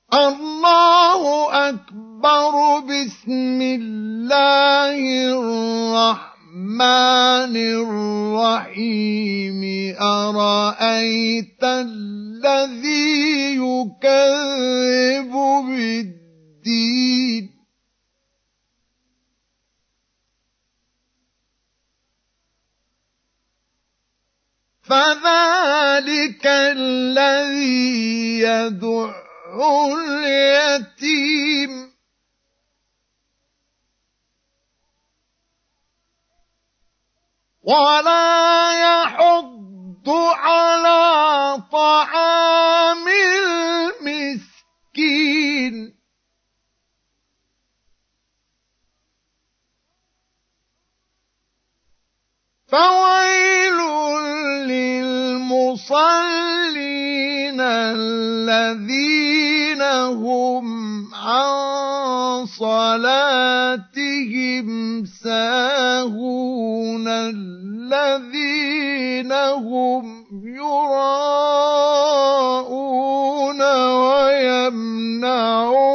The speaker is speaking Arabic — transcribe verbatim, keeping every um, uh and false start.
الله أكبر. بسم الله الرحمن الرحيم. أرأيت الذي يكذب بالدين فذلك الذي يدع اليتيم ولا يحض على طعام المسكين فويل للمصلين الذين هم عن صلاتهم ساهون الذين هم يراءون ويمنعون